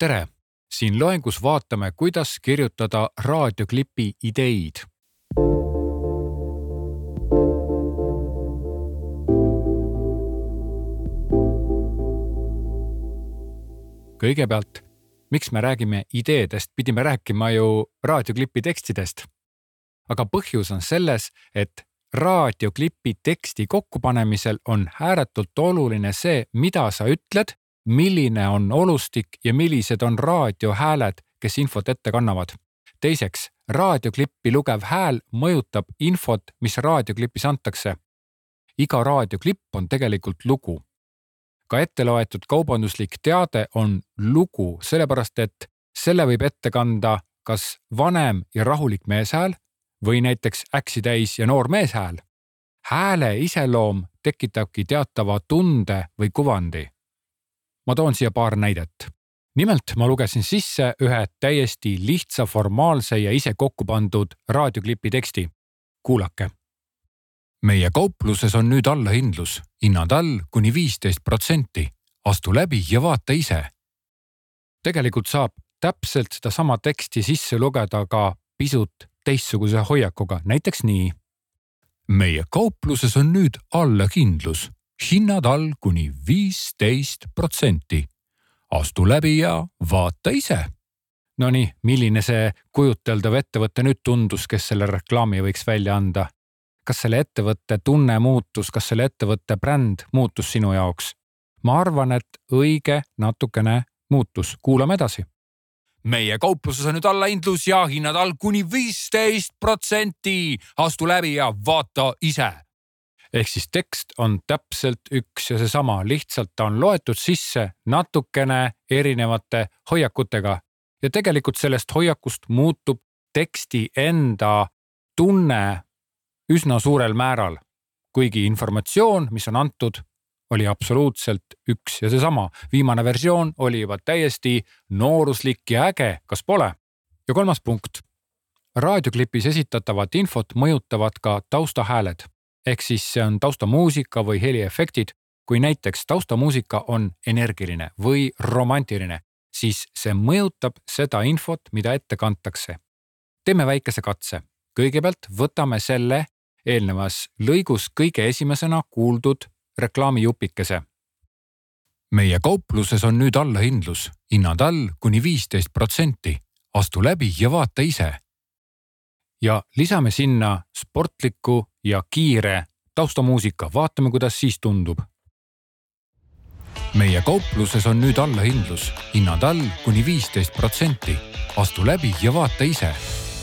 tere! Siin loengus vaatame, kuidas kirjutada raadioklipi ideid. Kõigepealt, miks me räägime ideedest, pidime rääkima ju raadioklipi tekstidest. Aga põhjus on selles, et raadioklipi teksti kokkupanemisel on ääretult oluline see, mida sa ütled, milline on olustik ja millised on raadiohääled, kes infot ette kannavad. Teiseks, raadioklippi lugev hääl mõjutab infot, mis raadioklipis antakse. Iga raadioklipp on tegelikult lugu. Ka ette loetud kaubanduslik teade on lugu, sellepärast et selle võib ette kanda kas vanem ja rahulik meeshääl või näiteks äksitäis ja noor meeshääl. Hääle iseloom tekitabki teatava tunde või kuvandi. Ma toon siia paar näidet. Nimelt ma lugesin sisse ühe täiesti lihtsa, formaalse ja ise kokku pandud raadioklipi teksti. Kuulake. Meie kaupluses on nüüd allahindlus, hinnad all kuni 15%. Astu läbi ja vaata ise. Tegelikult saab täpselt seda sama teksti sisse lugeda ka pisut teistsuguse hoiakuga, näiteks nii. Meie kaupluses on nüüd allahindlus, hinnad all kuni 15%. Astu läbi ja vaata ise. Nonii, milline see kujuteldav ettevõte nüüd tundus, kes selle reklaami võiks välja anda? Kas selle ettevõtte tunne muutus, kas selle ettevõtte bränd muutus sinu jaoks? Ma arvan, et õige natukene muutus. Kuulame edasi. Meie kaupluses on nüüd allahindlus ja hinnad all kuni 15%. Astu läbi ja vaata ise. Ehk siis tekst on täpselt üks ja seesama, lihtsalt ta on loetud sisse natukene erinevate hoiakutega. Ja tegelikult sellest hoiakust muutub teksti enda tunne üsna suurel määral, kuigi informatsioon, mis on antud, oli absoluutselt üks ja seesama. Viimane versioon oli juba täiesti nooruslik ja äge, kas pole? Ja kolmas punkt. Raadioklipis esitatavat infot mõjutavad ka taustahääled. Ehk siis see on taustamuusika või heliefektid. Kui näiteks taustamuusika on energiline või romantiline, siis see mõjutab seda infot, mida ette kantakse. Teeme väikese katse. Kõigepealt võtame selle eelnevas lõigus kõige esimesena kuuldud reklaamijupikese. Meie kaupluses on nüüd allahindlus, hinnad all kuni 15%. Astu läbi ja vaata ise. Ja lisame sinna sportliku ja kiire taustamuusika. Vaatame, kuidas siis tundub. Meie kaupluses on nüüd allahindlus, hinnad all kuni 15%. Astu läbi ja vaata ise.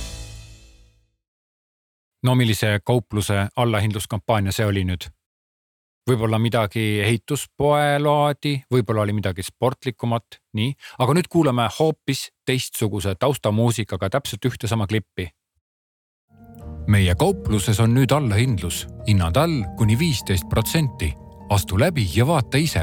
No millise kaupluse allahindluskampaania see oli nüüd? Võib-olla midagi ehituspoe laadi, võib-olla oli midagi sportlikumat, nii. Aga nüüd kuulame hoopis teistsuguse taustamuusikaga täpselt ühte sama klippi. Meie kaupluses on nüüd allahindlus, hinnad all kuni 15%. Astu läbi ja vaata ise.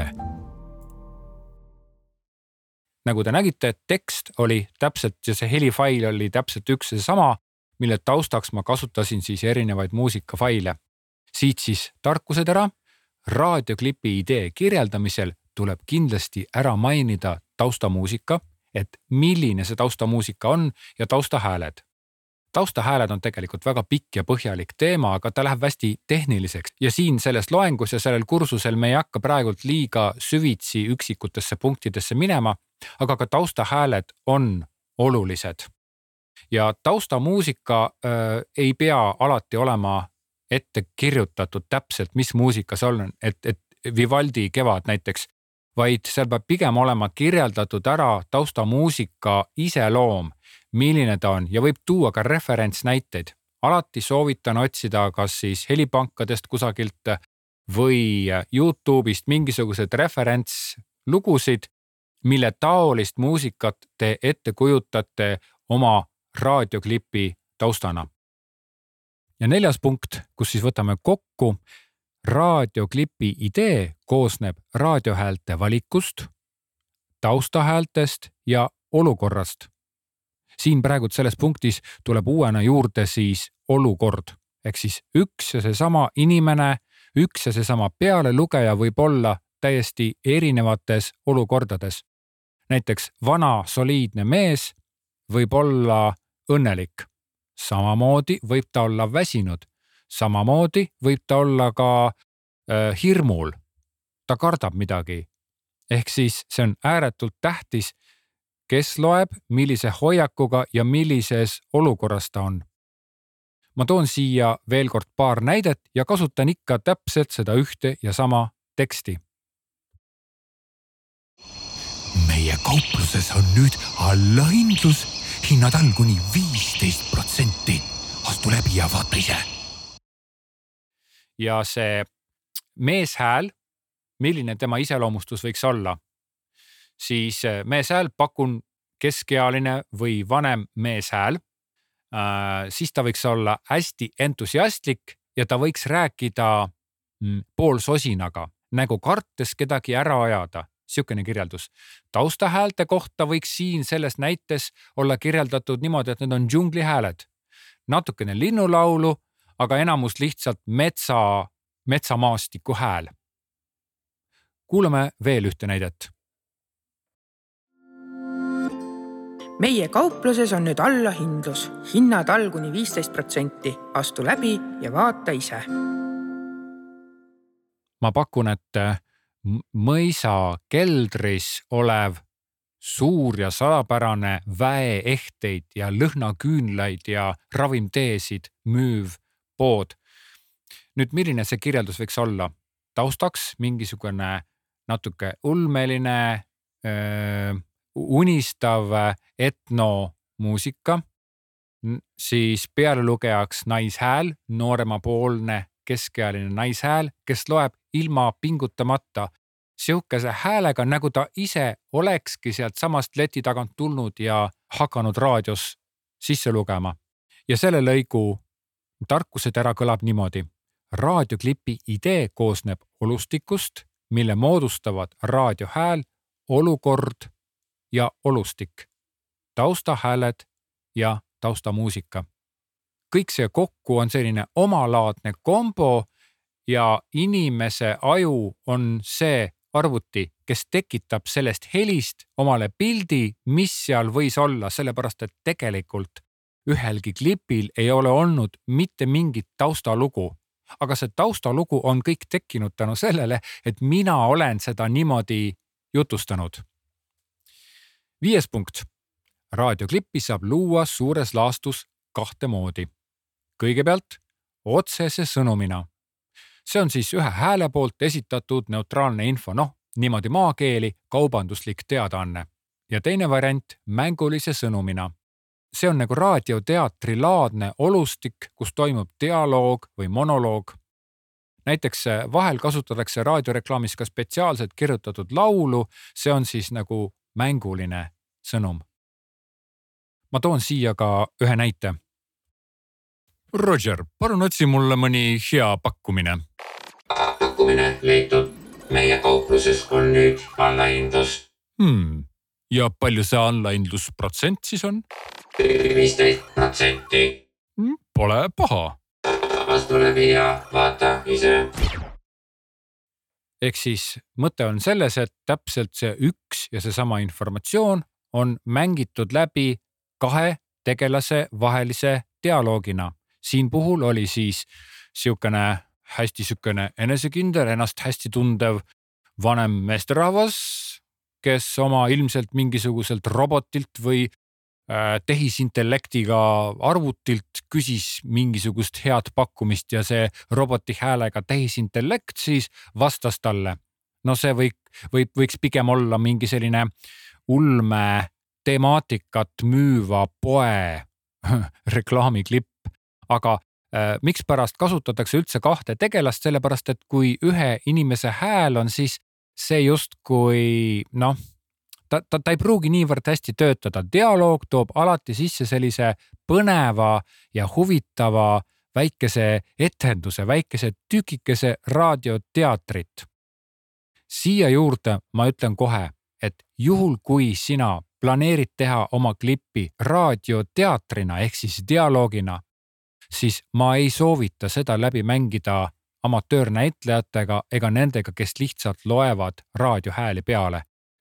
Nagu te nägite, tekst oli täpselt ja see helifail oli täpselt üks ja sama, mille taustaks ma kasutasin siis erinevaid muusikafaile. Siit siis tarkused ära. Raadioklipi idee kirjeldamisel tuleb kindlasti ära mainida taustamuusika, et milline see taustamuusika on ja taustahääled. Taustahääled on tegelikult väga pikk ja põhjalik teema, aga ta läheb hästi tehniliseks. Ja siin selles loengus ja sellel kursusel me ei hakka praegult liiga süvitsi üksikutesse punktidesse minema, aga ka taustahääled on olulised. Ja taustamuusika ei pea alati olema ette kirjutatud täpselt, mis muusika see on, et Vivaldi Kevad näiteks, vaid seal peab pigem olema kirjeldatud ära taustamuusika iseloom, milline ta on ja võib tuua ka referentsnäiteid. Alati soovitan otsida kas siis helipankadest kusagilt või YouTube'ist mingisugused referentslugusid, mille taolist muusikat te ette kujutate oma raadioklipi taustana. Ja 4. punkt, kus siis võtame kokku, raadioklipi idee koosneb raadiohäälte valikust, taustahäältest ja olukorrast. Siin praegu selles punktis tuleb uuena juurde siis olukord. Ehk siis üks ja seesama inimene, üks ja seesama pealelugeja võib olla täiesti erinevates olukordades. näiteks vana soliidne mees võib olla õnnelik. Samamoodi võib ta olla väsinud. Samamoodi võib ta olla ka hirmul. Ta kardab midagi. Ehk siis see on ääretult tähtis, kes loeb, millise hoiakuga ja millises olukorras ta on. Ma toon siia veel kord paar näidet ja kasutan ikka täpselt seda ühte ja sama teksti. Meie kaupluses on nüüd allahindlus, hinnad all kuni 15%. Astu läbi ja vaata ise. Ja see meeshääl, milline tema iseloomustus võiks olla, siis meeshääl pakun keskealine või vanem meeshääl, siis ta võiks olla hästi entusiastlik ja ta võiks rääkida poolsosinaga, nagu kartes kedagi ära ajada. Siukene kirjeldus. Taustahäälte kohta võiks siin selles näites olla kirjeldatud niimoodi, et need on džunglihääled. Natukene linnulaulu, aga enamus lihtsalt metsamaastiku hääl. Kuulame veel ühte näidet. Meie kaupluses on nüüd allahindlus. Hinnad all kuni 15%. Astu läbi ja vaata ise. Ma pakun, et mõisa keldris olev suur ja salapärane väeehteid ja lõhnaküünlaid ja ravimteesid müüv pood. Nüüd, milline see kirjeldus võiks olla? Taustaks mingisugune natuke ulmeline, unistav etnomuusika, siis pealelugejaks naishääl, nooremapoolne keskealine naishääl, kes loeb ilma pingutamata siukese häälega, nagu ta ise olekski sealt samast leti tagant tulnud ja hakanud raadios sisse lugema. Ja selle lõigu tarkusetera kõlab niimoodi. Raadioklipi idee koosneb olustikust, mille moodustavad raadiohääl, olukord ja olustik, taustahääled ja taustamuusika. Kõik see kokku on selline omalaadne kombo ja inimese aju on see arvuti, kes tekitab sellest helist omale pildi, mis seal võis olla, sellepärast et tegelikult ühelgi klipil ei ole olnud mitte mingit taustalugu. Aga see taustalugu on kõik tekkinud tänu sellele, et mina olen seda niimoodi jutustanud. 5. punkt. Raadioklippi saab luua suures laastus kahte moodi. Kõigepealt otsese sõnumina. See on siis ühe hääle poolt esitatud neutraalne info, niimoodi maakeeli kaubanduslik teadaanne. Ja teine variant mängulise sõnumina. See on nagu raadioteatri laadne olustik, kus toimub dialoog või monoloog. Näiteks vahel kasutatakse raadioreklaamis ka spetsiaalselt kirjutatud laulu, see on siis nagu mänguline sõnum. Ma toon siia ka ühe näite. Roger, palun otsi mulle mõni hea pakkumine. Pakkumine leitud. Meie kaupluses on nüüd allahindlus. Ja palju see allahindlusprotsent siis on? 15%. Pole paha. Astu läbi ja vaata ise. Ehk siis mõte on selles, et täpselt see üks ja seesama informatsioon on mängitud läbi kahe tegelase vahelise dialoogina. Siin puhul oli siis hästi enesekindel, ennast hästi tundev vanem meesterahvas, kes oma ilmselt mingisuguselt robotilt või tehisintellektiga arvutilt küsis mingisugust head pakkumist ja see roboti häälega tehisintellekt siis vastas talle. See võiks pigem olla mingi selline ulme temaatikat müüva poe reklaamiklipp, aga miks pärast kasutatakse üldse kahte tegelast, sellepärast et kui ühe inimese hääl on, siis see justkui ta ei pruugi niivõrd hästi töötada. Dialoog toob alati sisse sellise põneva ja huvitava väikese etenduse, väikese tükikese raadioteatrit. Siia juurde ma ütlen kohe, et juhul kui sina planeerid teha oma klippi raadioteatrina ehk siis dialoogina, siis ma ei soovita seda läbi mängida amatöörnäitlejatega ega nendega, kes lihtsalt loevad raadiohääli peale.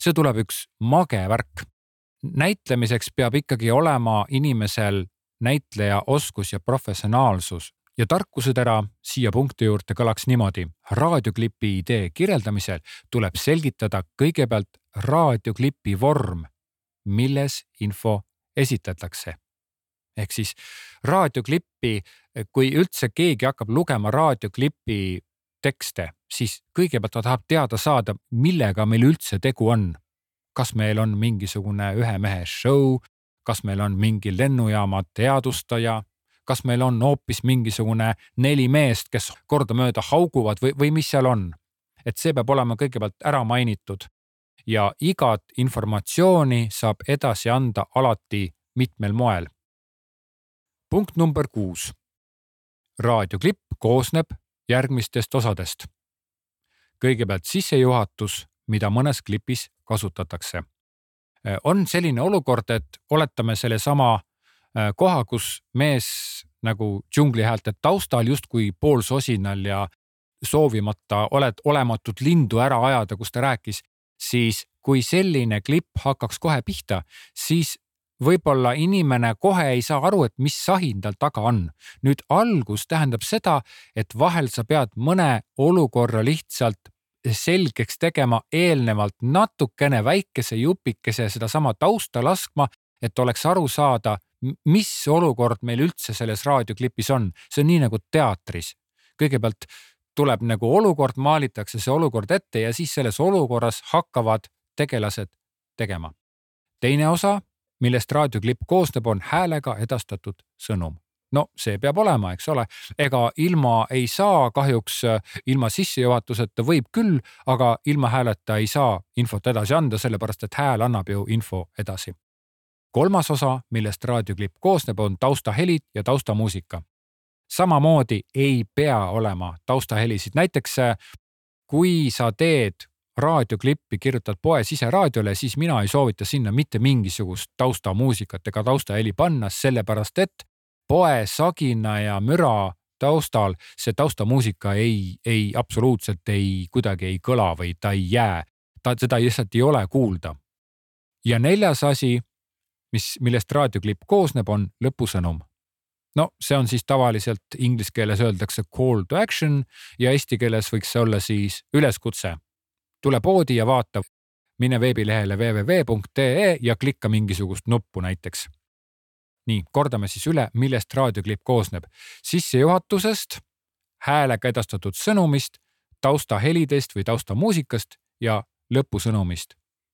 see tuleb üks mage värk. Näitlemiseks peab ikkagi olema inimesel näitleja oskus ja professionaalsus. Ja tarkusetera siia punkti juurde kõlaks niimoodi. Raadioklipi idee kirjeldamisel tuleb selgitada kõigepealt raadioklipi vorm, milles info esitatakse. Ehk siis raadioklippi, kui üldse keegi hakkab lugema raadioklipi tekste, siis kõigepealt ta tahab teada saada, millega meil üldse tegu on. Kas meil on mingisugune ühe mehe show, kas meil on mingi lennujaama teadustaja, kas meil on hoopis mingisugune 4 meest, kes kordamööda hauguvad või mis seal on. Et see peab olema kõigepealt ära mainitud ja igat informatsiooni saab edasi anda alati mitmel moel. Punkt number 6. Raadioklipp koosneb järgmistest osadest. Kõigepealt sissejuhatus, mida mõnes klipis kasutatakse. On selline olukord, et oletame selle sama koha, kus mees nagu džunglihäälte taustal justkui poolsosinal ja soovimata olematut lindu ära ajada, kus ta rääkis, siis kui selline klipp hakkaks kohe pihta, siis võib-olla inimene kohe ei saa aru, et mis sahin tal taga on. Nüüd algus tähendab seda, et vahel sa pead mõne olukorra lihtsalt selgeks tegema eelnevalt natukene väikese jupikese seda sama tausta laskma, et oleks aru saada, mis olukord meil üldse selles raadioklipis on. See on nii nagu teatris. Kõigepealt tuleb nagu olukord, maalitakse see olukord ette ja siis selles olukorras hakkavad tegelased tegema. Teine osa, millest raadioklipp koosneb, on häälega edastatud sõnum. No see peab olema, eks ole. Ega ilma ei saa kahjuks, ilma sissejuhatuseta võib küll, aga ilma hääleta ei saa infot edasi anda, sellepärast et hääl annab ju info edasi. Kolmas osa, millest raadioklipp koosneb, on taustahelid ja taustamuusika. Samamoodi ei pea olema taustahelisid. Näiteks, kui sa teed raadioklippi, kirjutad poe siseraadiole, siis mina ei soovita sinna mitte mingisugust taustamuusikat ega taustaheli panna, sellepärast et poe sagina ja müra taustal see taustamuusika ei absoluutselt kuidagi ei kõla või ta ei jää. Seda lihtsalt ei ole kuulda. Ja 4. asi, millest raadioklipp koosneb, on lõpusõnum. No see on siis tavaliselt inglise keeles öeldakse call to action ja eesti keeles võiks see olla siis üleskutse. Tule poodi ja vaata, mine veebilehele www.ee ja klikka mingisugust nuppu näiteks. Nii, kordame siis üle, millest raadioklipp koosneb. Sissejuhatusest, häälega edastatud sõnumist, taustahelidest või taustamuusikast ja lõpusõnumist.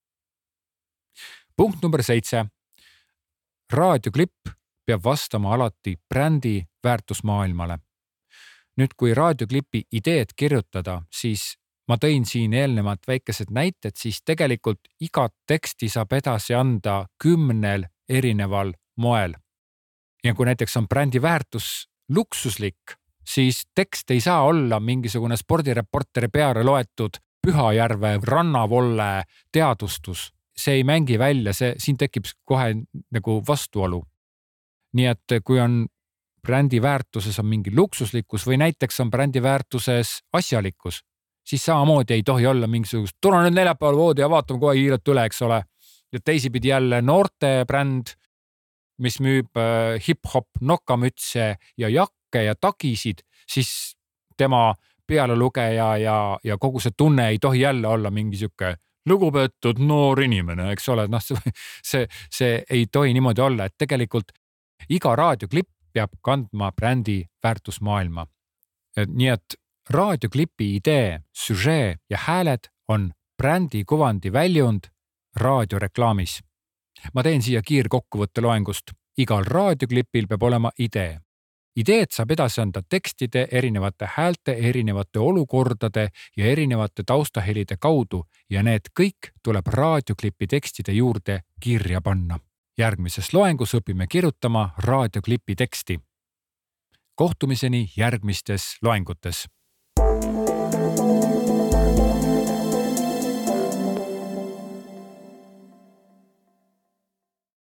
Punkt number 7. Raadioklipp peab vastama alati brändi väärtusmaailmale. Nüüd, kui raadioklipi ideed kirjutada, siis ma tõin siin eelnevalt väikesed näited, siis tegelikult igat teksti saab edasi anda 10 erineval moel. Ja kui näiteks on brändi väärtus luksuslik, siis tekst ei saa olla mingisugune spordireporteri peale loetud Pühajärve rannavolle teadustus. See ei mängi välja, siin tekib kohe nagu vastuolu. Nii et kui on brändi väärtuses on mingi luksuslikkus või näiteks on brändi väärtuses asjalikkus, siis samamoodi ei tohi olla mingisugust tule nüüd neljapäeval voodi ja vaatame kohe kiirelt üle, eks ole. Ja teisipidi jälle noorte bränd, mis müüb hip-hop nokamütse ja jakke ja tagisid, siis tema pealelugeja ja kogu see tunne ei tohi jälle olla mingisugune lugupeetud noor inimene, eks ole. No, see ei tohi niimoodi olla, et tegelikult iga raadioklipp peab kandma brändi väärtusmaailma. Nii et raadioklipi idee, süžee ja hääled on brändi kuvandi väljund raadioreklaamis. Ma teen siia kiirkokkuvõtte loengust. Igal raadioklipil peab olema idee. Ideed saab edasi anda tekstide, erinevate häälte, erinevate olukordade ja erinevate taustahelide kaudu ja need kõik tuleb raadioklipi tekstide juurde kirja panna. Järgmises loengus õpime kirjutama raadioklipi teksti. Kohtumiseni järgmistes loengutes.